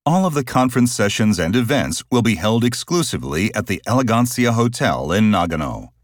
All of the conference sessions and events will be held exclusively at the Elegancia Hotel in Nagano.